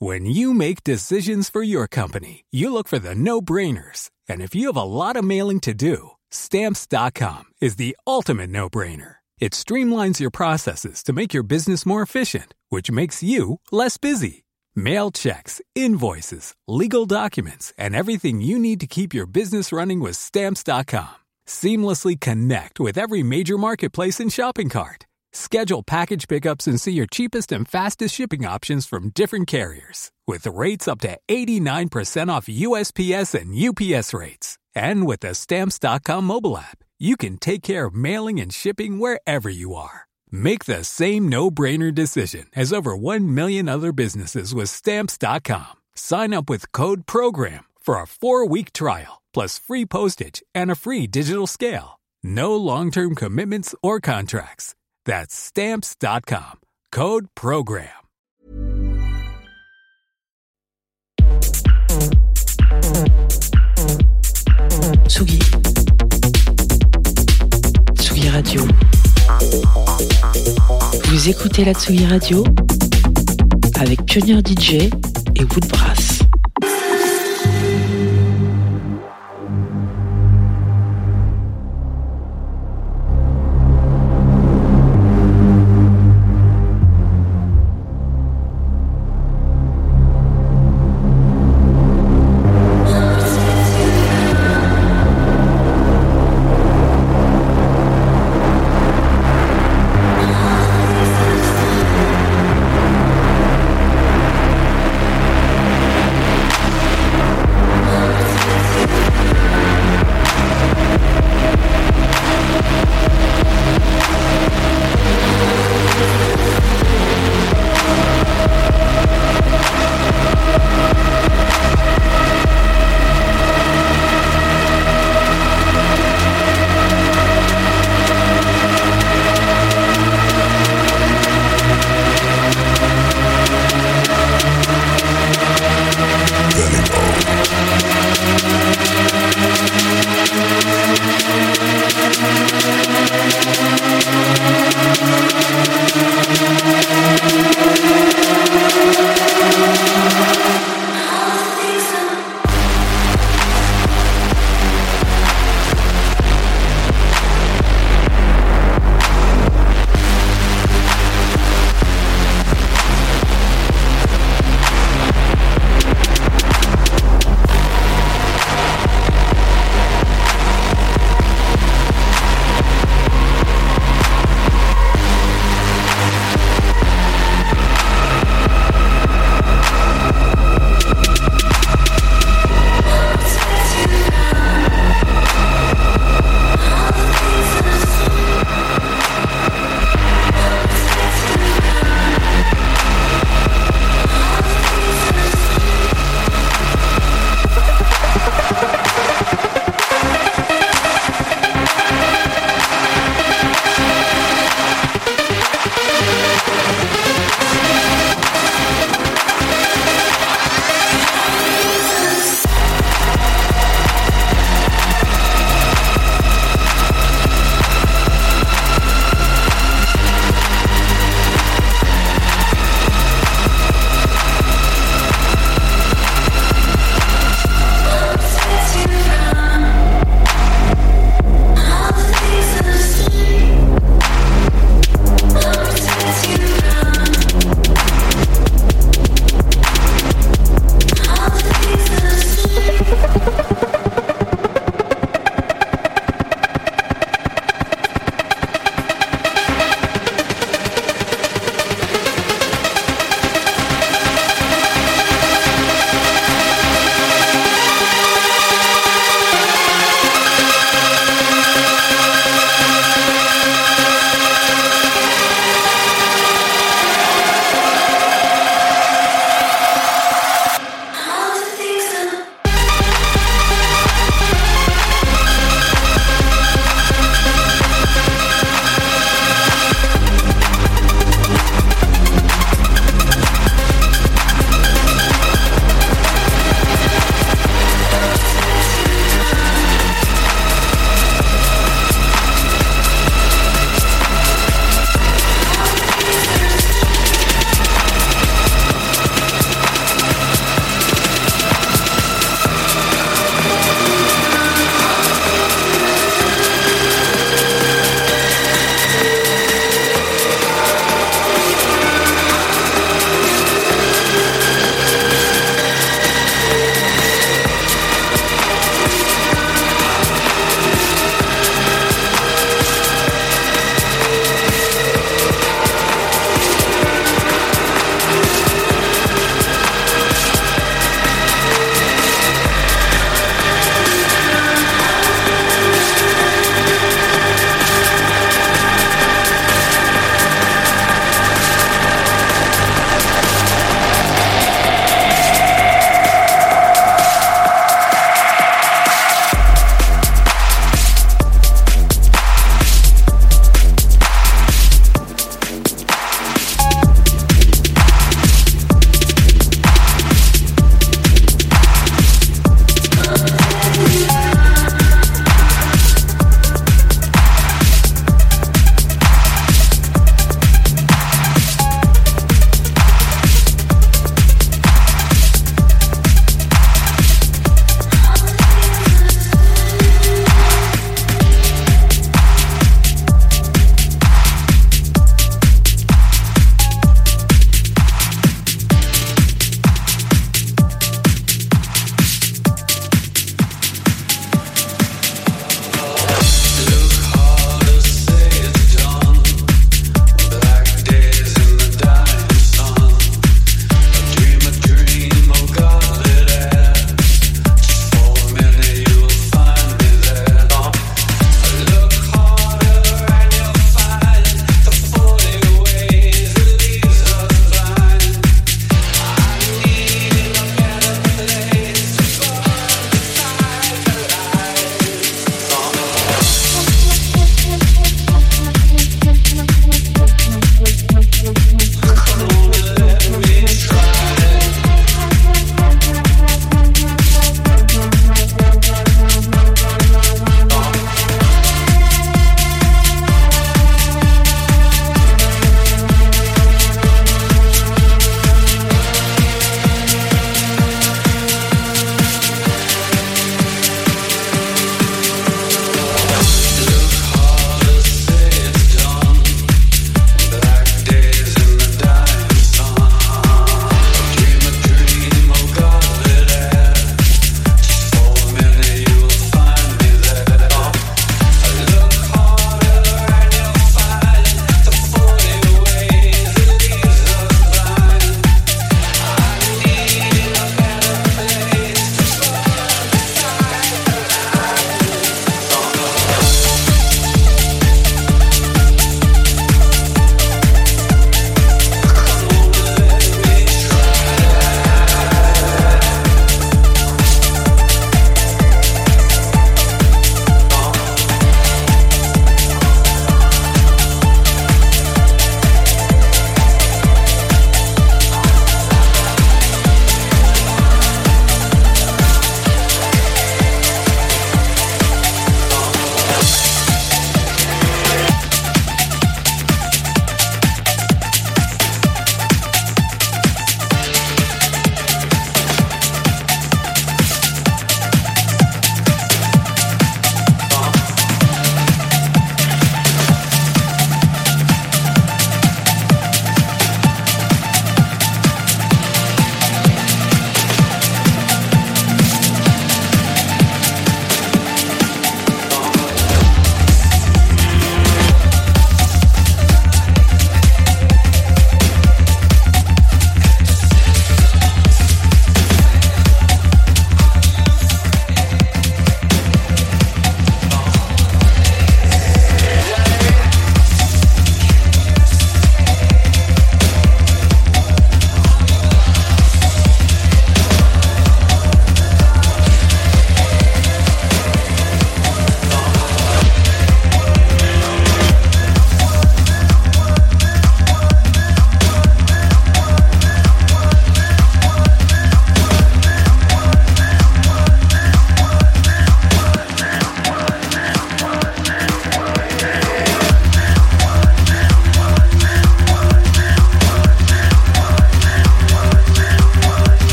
When you make decisions for your company, you look for the no-brainers. And if you have a lot of mailing to do, Stamps.com is the ultimate no-brainer. It streamlines your processes to make your business more efficient, which makes you less busy. Mail checks, invoices, legal documents, and everything you need to keep your business running with Stamps.com. Seamlessly connect with every major marketplace and shopping cart. Schedule package pickups and see your cheapest and fastest shipping options from different carriers, with rates up to 89% off USPS and UPS rates. And with the Stamps.com mobile app, you can take care of mailing and shipping wherever you are. Make the same no-brainer decision as over 1 million other businesses with Stamps.com. Sign up with code PROGRAM for a 4-week trial, plus free postage and a free digital scale. No long-term commitments or contracts. That's Stamps.com. Code PROGRAM. Tsugi. Tsugi Radio. Vous écoutez la Tsugi Radio avec Pionnier DJ et Woodbrass.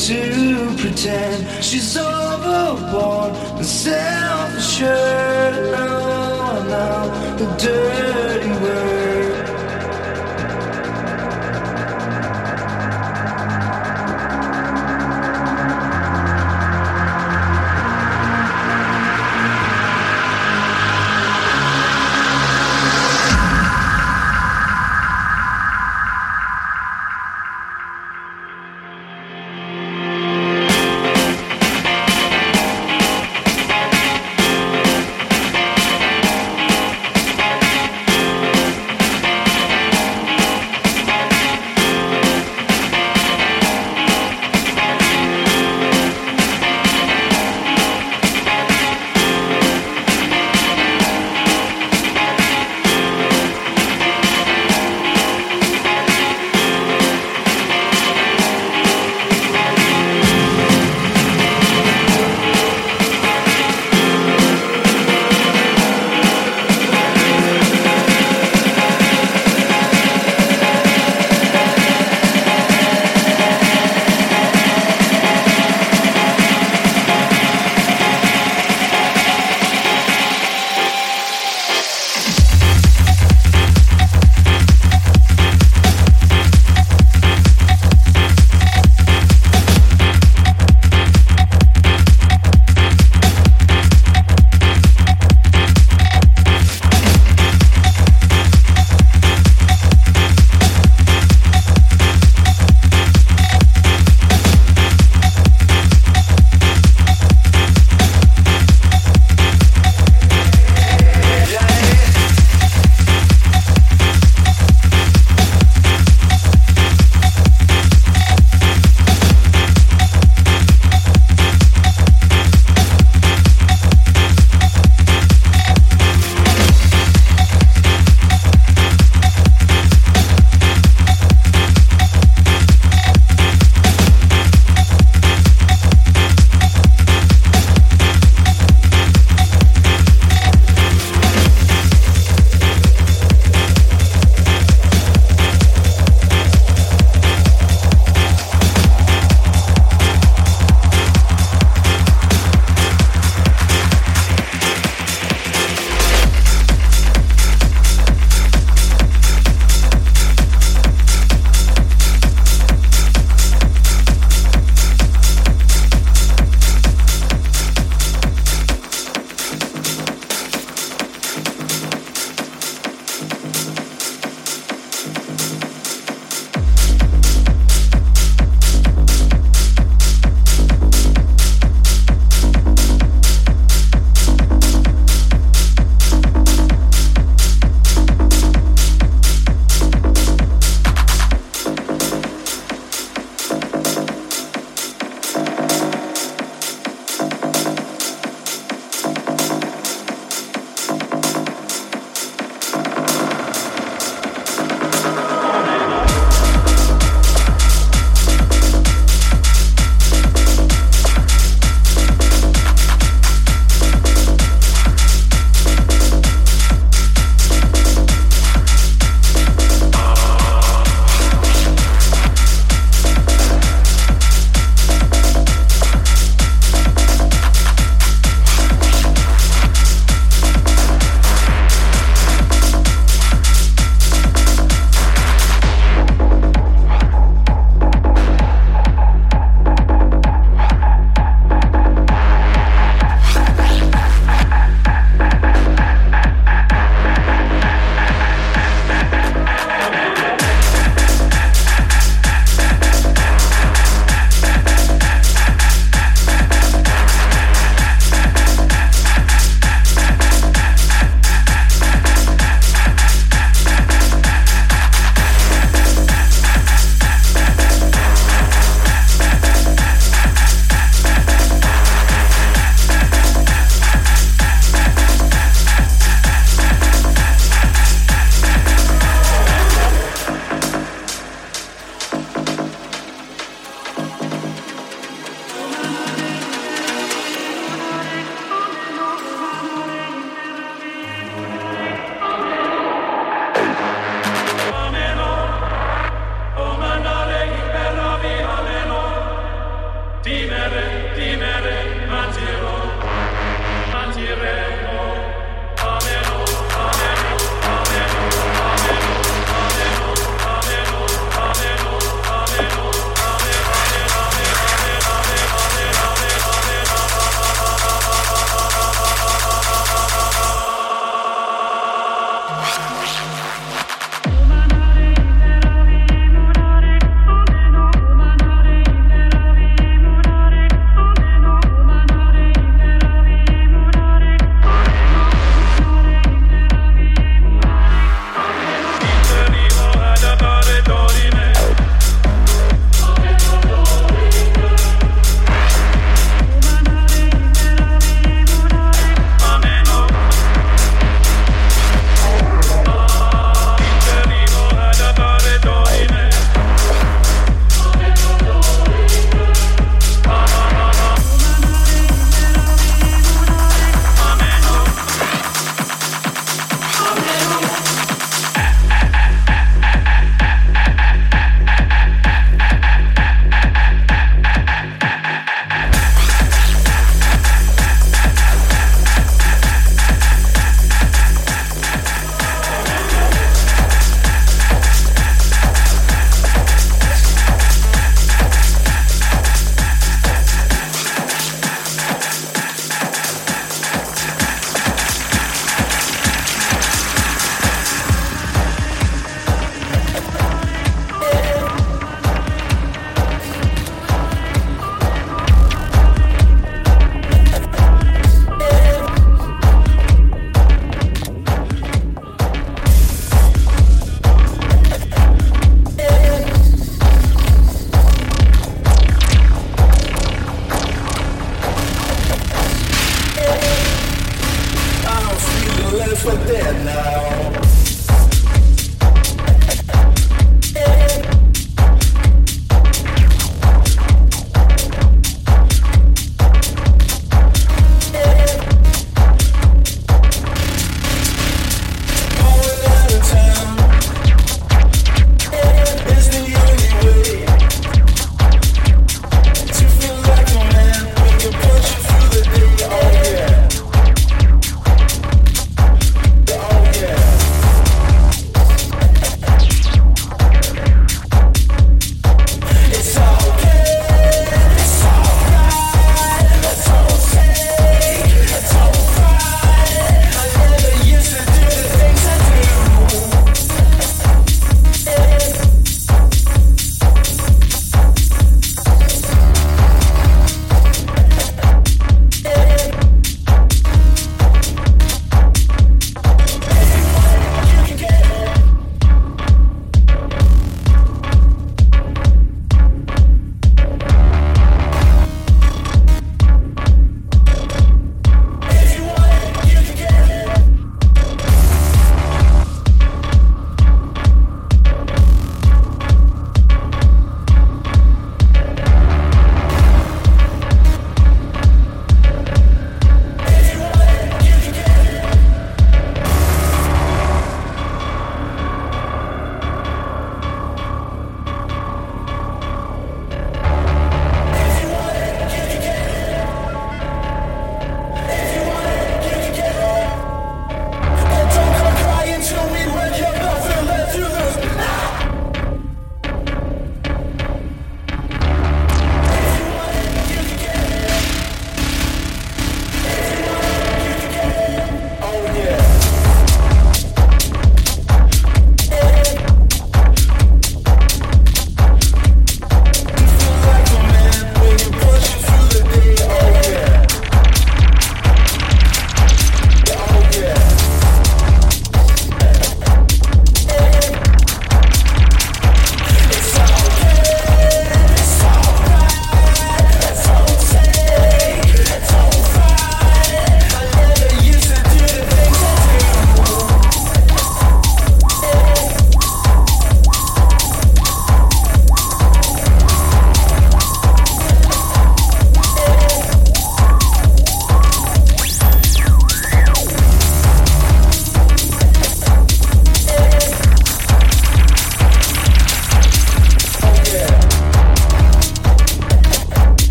to pretend she's overboard and self-assured. Oh, now the dirty word.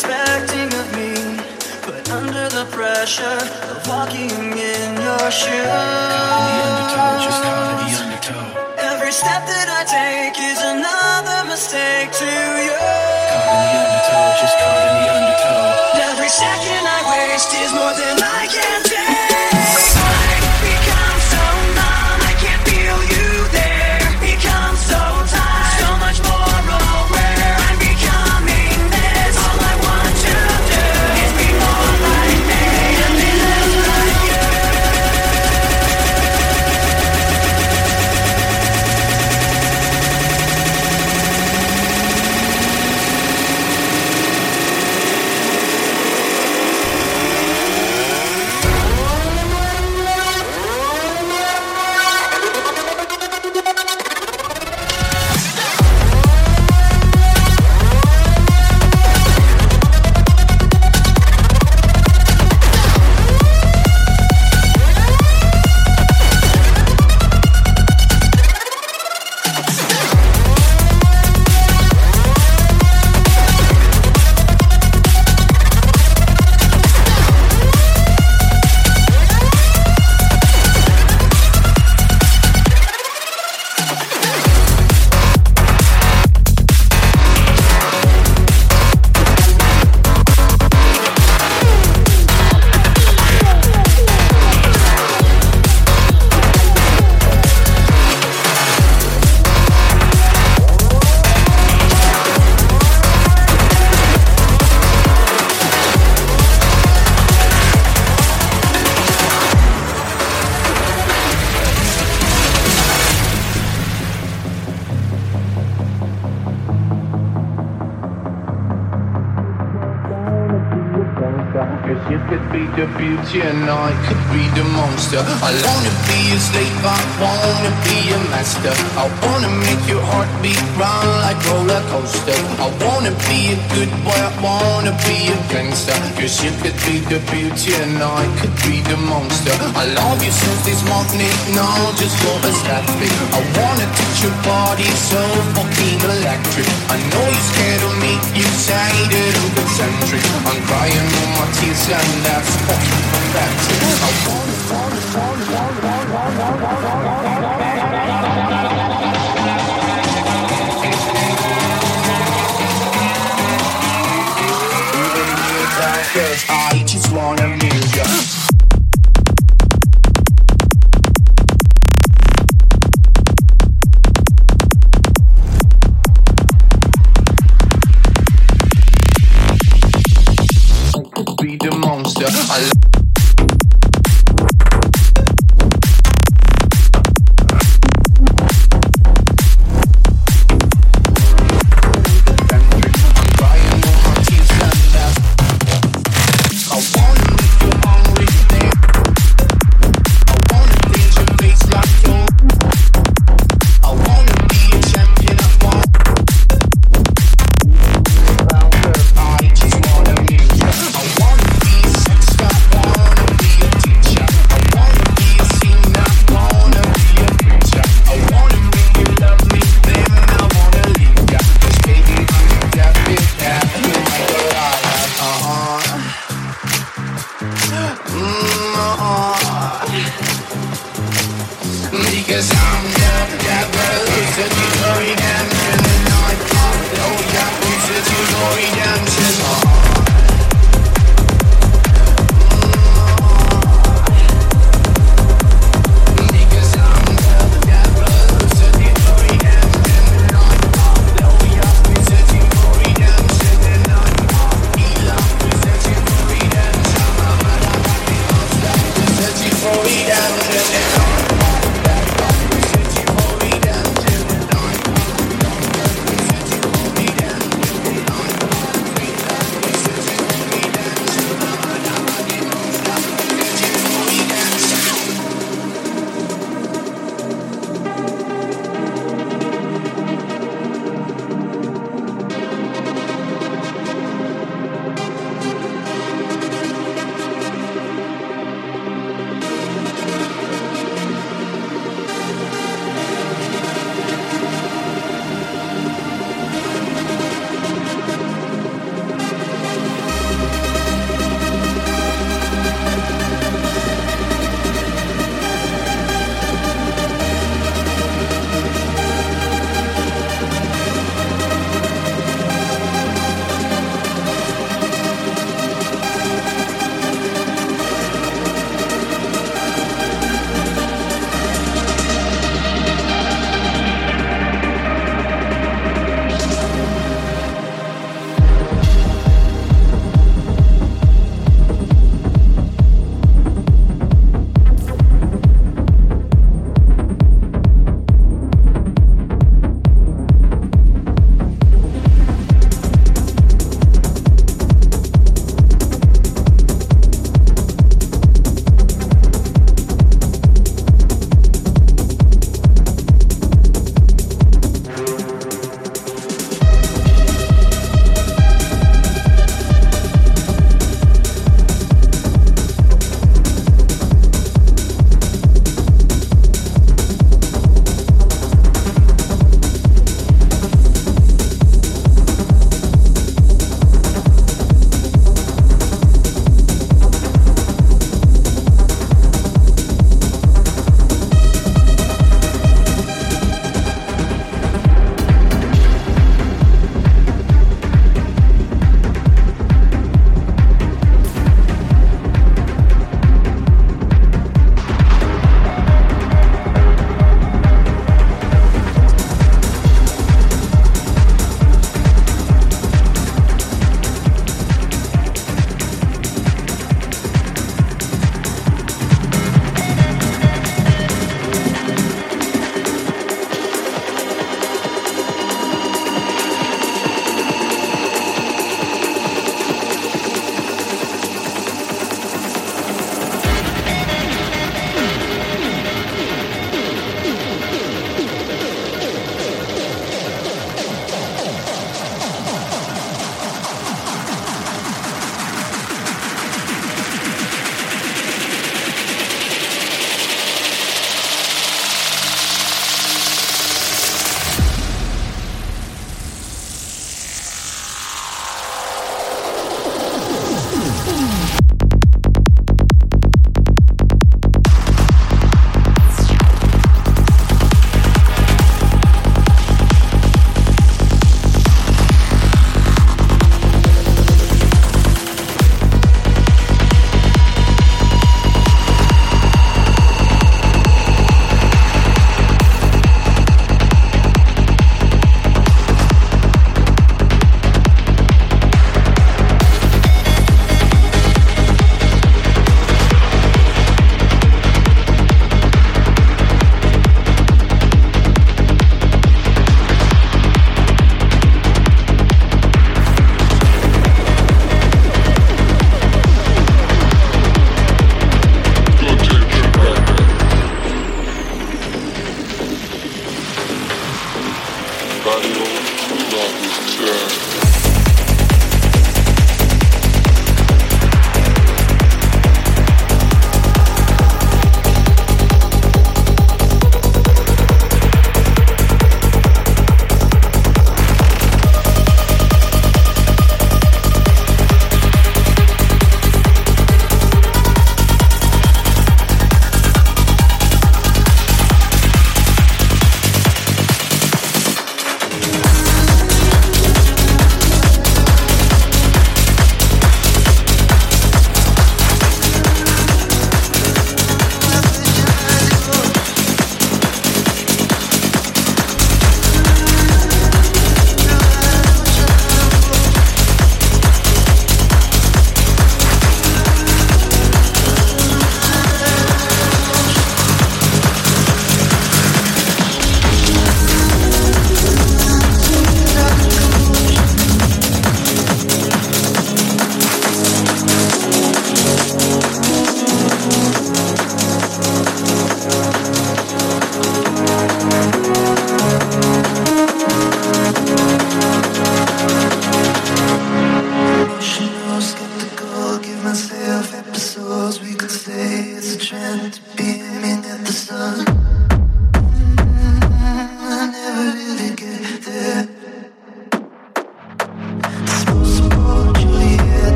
expecting of me, but under the pressure of walking in your shoes. Caught in the undertow, just caught in the undertow. Every step that I take is another mistake to you. Caught in the undertow, just caught in the undertow. Every second I waste is more than I can take. I become so numb, I can't feel you there. Become so tired, so much more aware. I'm becoming this. All I want to do is be more like me and be less like you. You could be the beauty and I could be the monster. I wanna be a slave, I wanna be a master. I wanna make your heart beat round like roller coaster. I wanna be a good boy, I wanna be a gangster. Cause you could be the beauty and I could be the monster. I love you since this morning, now just for aesthetic. I wanna touch your body so fucking electric. I know you're scared of me, you say that I'm concentric. I'm crying on my tears and that's fucking pathetic. I wanna cause I just wanna amuse ya. Be the monster. I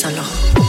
solo.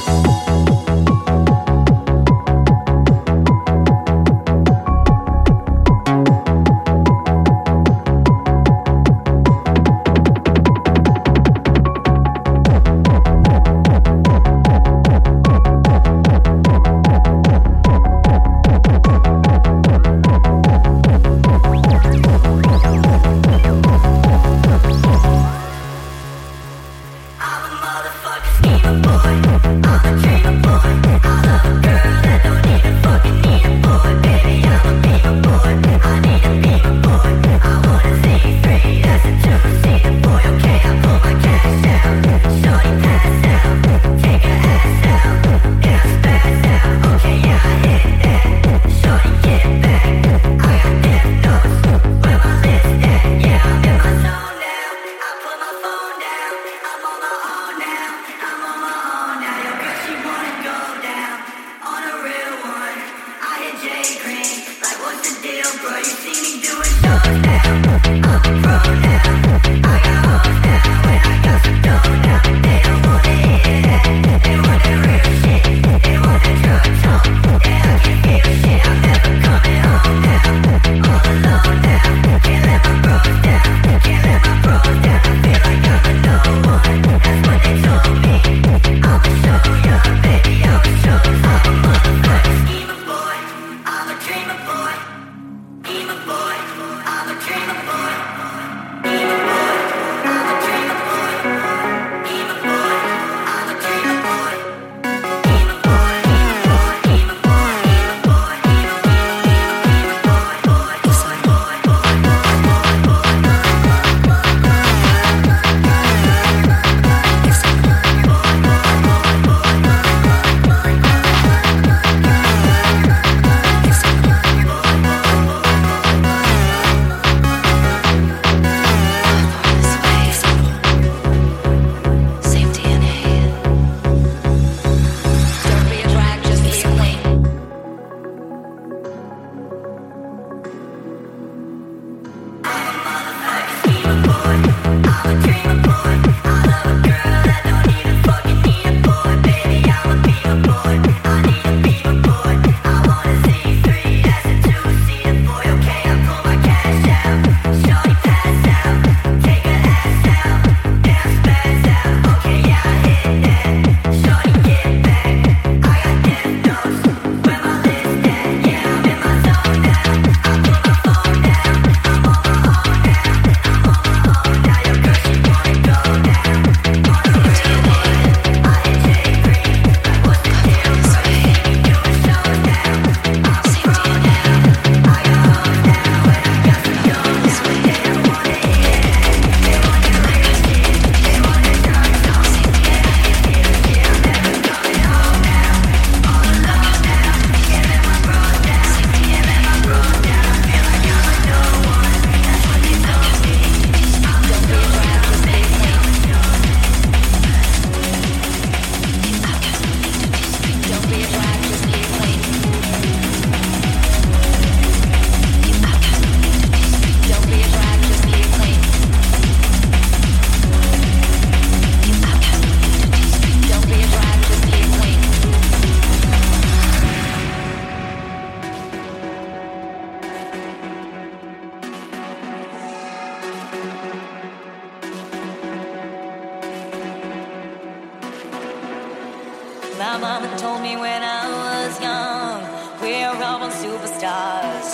My mama told me when I was young, we're all superstars.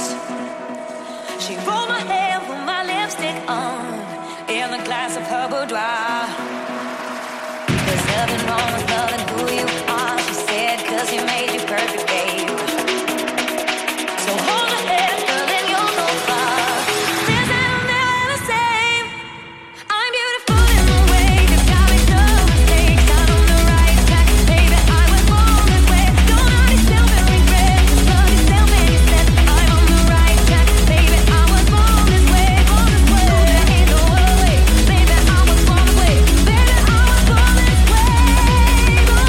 She rolled my hair, put my lipstick on, in the glass of her boudoir. There's nothing wrong with loving who you are, she said, 'cause you made you perfect, babe. So hold your head, girl, and you'll go far. This ain't never the same. I'm beautiful in the way you got me no mistakes. I'm on the right track, baby. I was born this way. Don't hurt yourself and regret. Love yourself and you said I'm on the right track, baby. I was born this way, born this way. No, there ain't no other way, baby. I was born this way, baby. I was born this way, born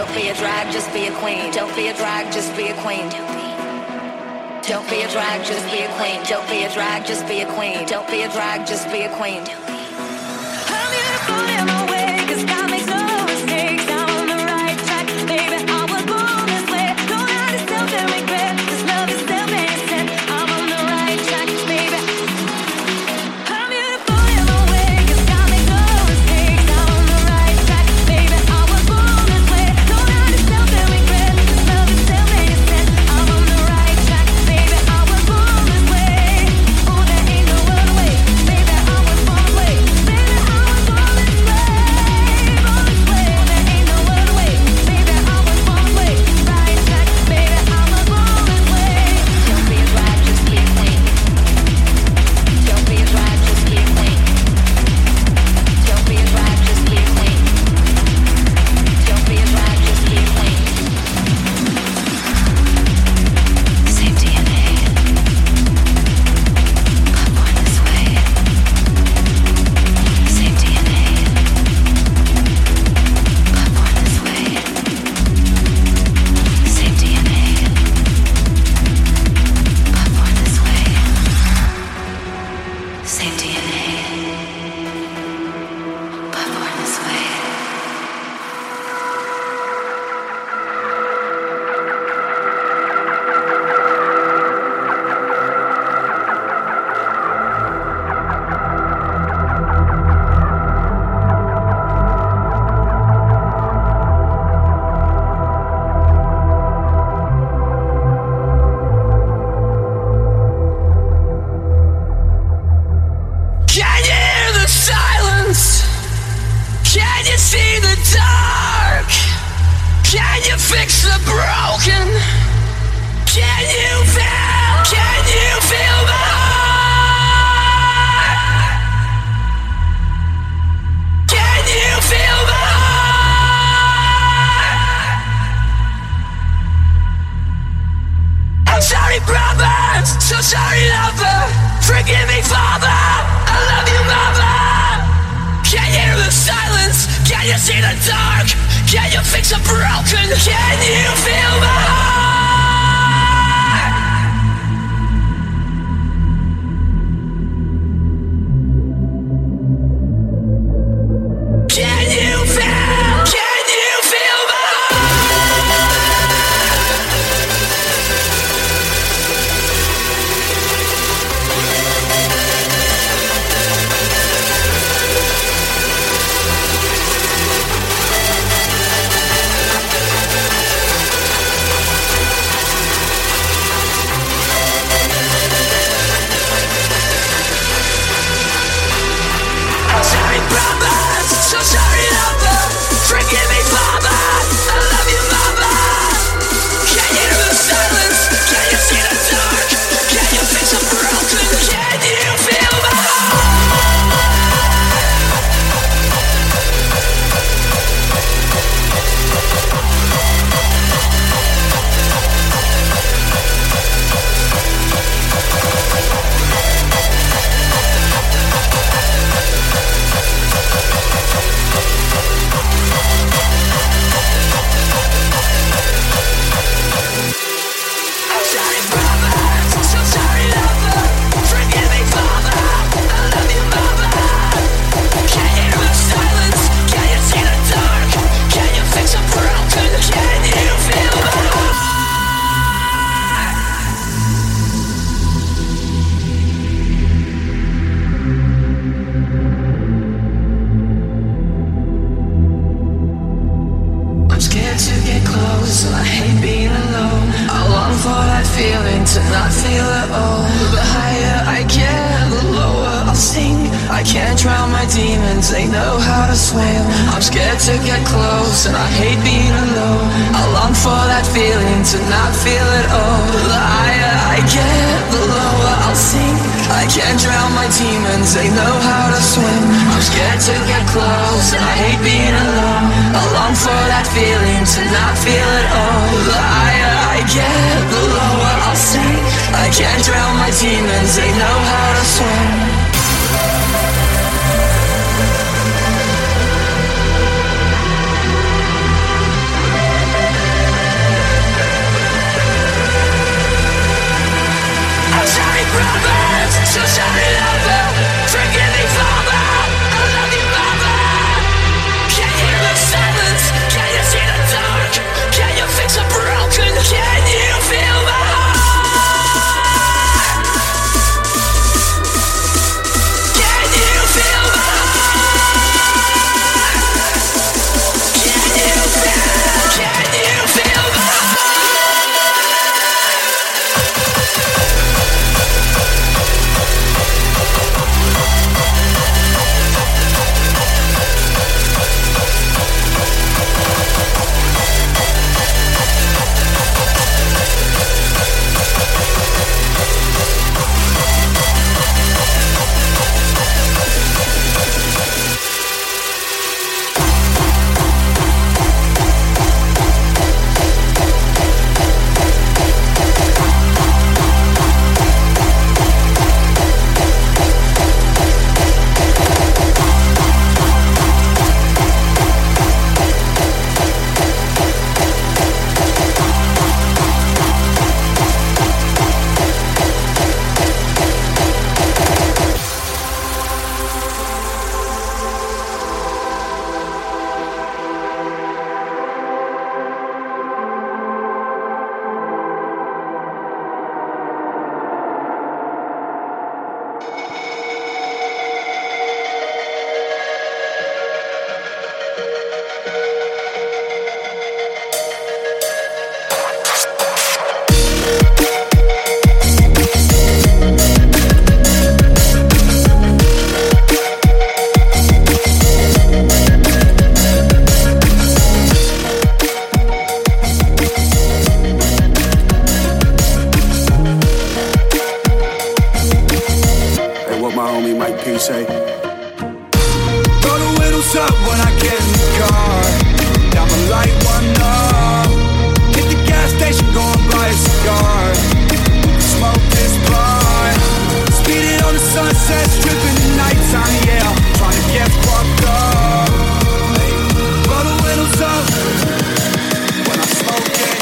Don't be a drag, just be a queen. Don't be a drag, just be a queen. Don't be a drag, just be a queen. Don't be a drag, just be a queen. Don't be a drag, just be a queen. I'm beautiful in my way, 'cause God makes no mistakes. I'm on the right track, baby. I was born this way. Don't hide yourself and regret, 'cause love is still being said. I'm on the right track, baby. I'm beautiful in my way, 'cause God makes no mistakes. I'm on the right track, baby. I was born this way. Don't hide yourself and regret, 'cause love is still being said. I'm on the right track, baby. I was born this way. Oh, there ain't no other way, baby. I was born this way, baby. I was born this way, born this way. There ain't no other way, baby. I was born this way. Right track, baby. I was born this way. Don't be a drag, just be a queen. Don't be a drag, just be a queen. Don't be a drag, just be a queen. Don't be a drag, just be a queen. Same DNA. But born this way. Same DNA. But born this way. Same DNA. But born this way. Same DNA. But born this way. Can you hear the silence? Can you see the dark? Can you fix the broken? Can you feel my heart? Can you feel my heart? I'm sorry, brother, so sorry, lover. Forgive me, father, I love you, mother. Can you hear the silence? Can you see the dark? Can you fix a broken? Can you feel my heart? Can you feel my I'm sorry, brother, so sorry, lover. Forgive me, father, I love you, mother. Can you hear the silence? Can you see the dark? Can you fix a broken? Can you feel my I'm sorry, brother, so sorry, lover. Forgive me, father, I love you, mother. Can you hear the silence? Can you see the dark? Can you fix a broken? Can you feel my heart? I'm scared to get close, and I hate being alone. I long for that feeling to not feel at all. The higher I get, the lower I'll sink. I can't drown my demons, they know how to swim. I'm scared to get close, and I hate being alone. I long for that feeling to not feel at all. The higher I get, the lower I'll sink. I can't drown my demons, they know how to swim. I'm scared to get close, and I hate being alone. I long for that feeling to not feel at all. The higher I get, the lower I'll sink. I can't drown my demons, they know how to swim. wheels up when I get in the car. I'ma light one up. Hit the gas station, go and buy a cigar. Smoke this blunt. Speed it on the sunset, stripping the nighttime, yeah. Trying to get fucked up. Roll the windows up when I smoke it.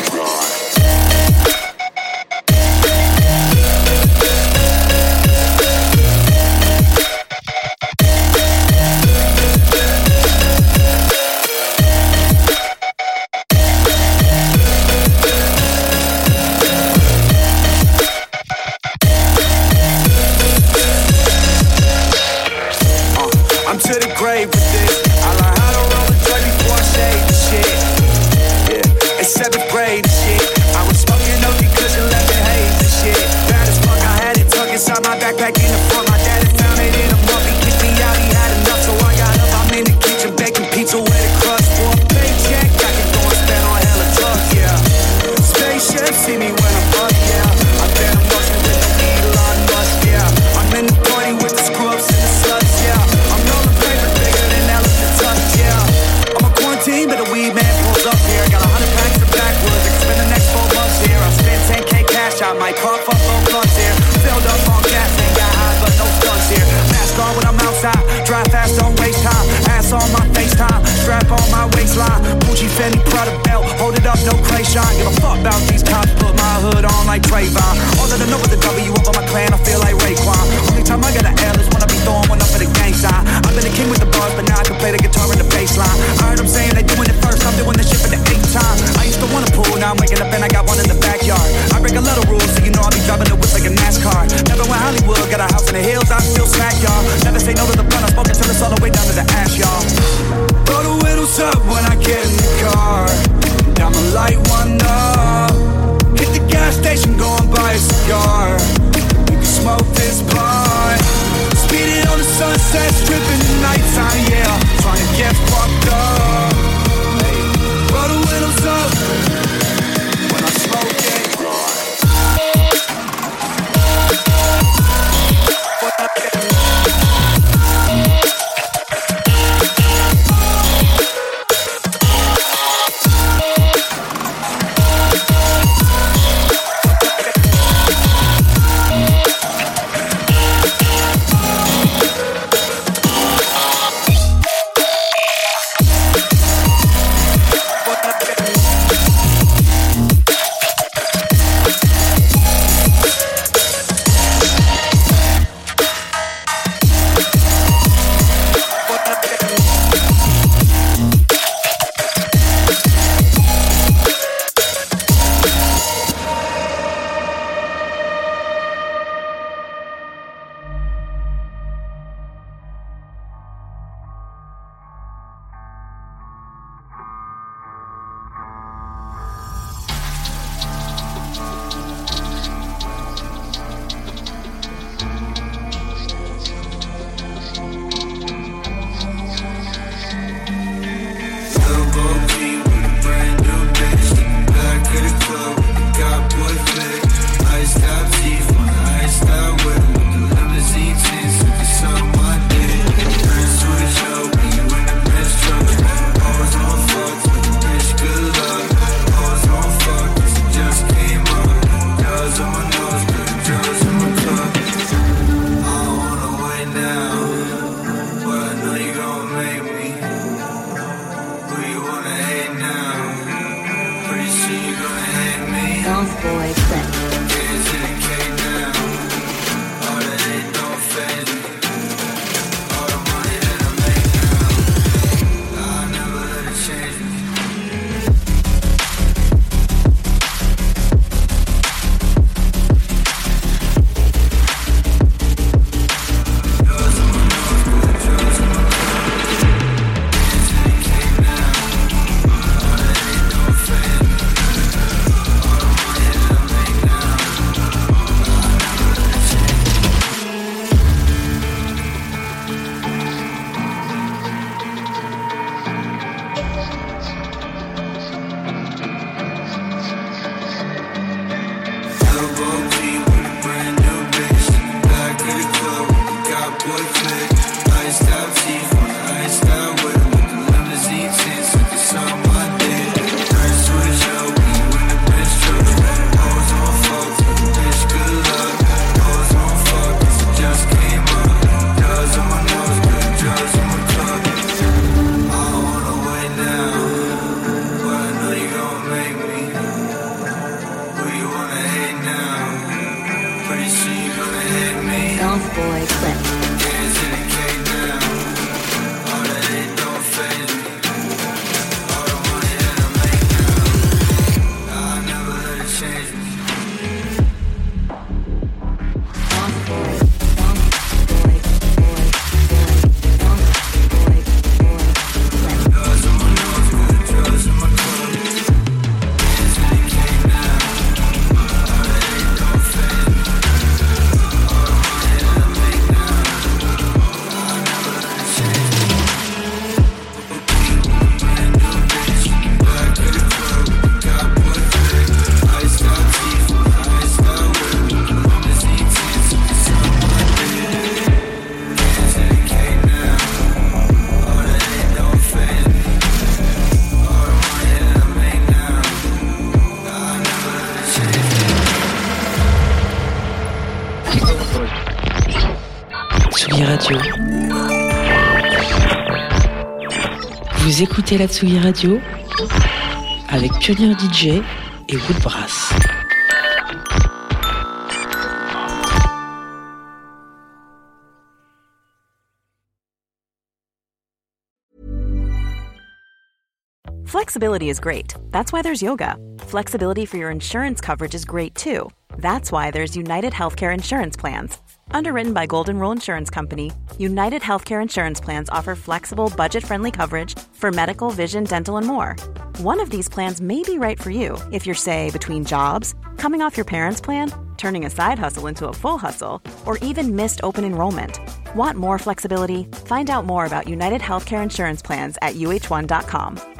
Vous écoutez la Tsugi Radio avec Pionnier DJ et Woodbrass. Flexibility is great. That's why there's yoga. Flexibility for your insurance coverage is great too. That's why there's United Healthcare Insurance Plans. Underwritten by Golden Rule Insurance Company, United Healthcare Insurance Plans offer flexible, budget-friendly coverage for medical, vision, dental, and more. One of these plans may be right for you if you're, say, between jobs, coming off your parents' plan, turning a side hustle into a full hustle, or even missed open enrollment. Want more flexibility? Find out more about United Healthcare Insurance Plans at uh1.com.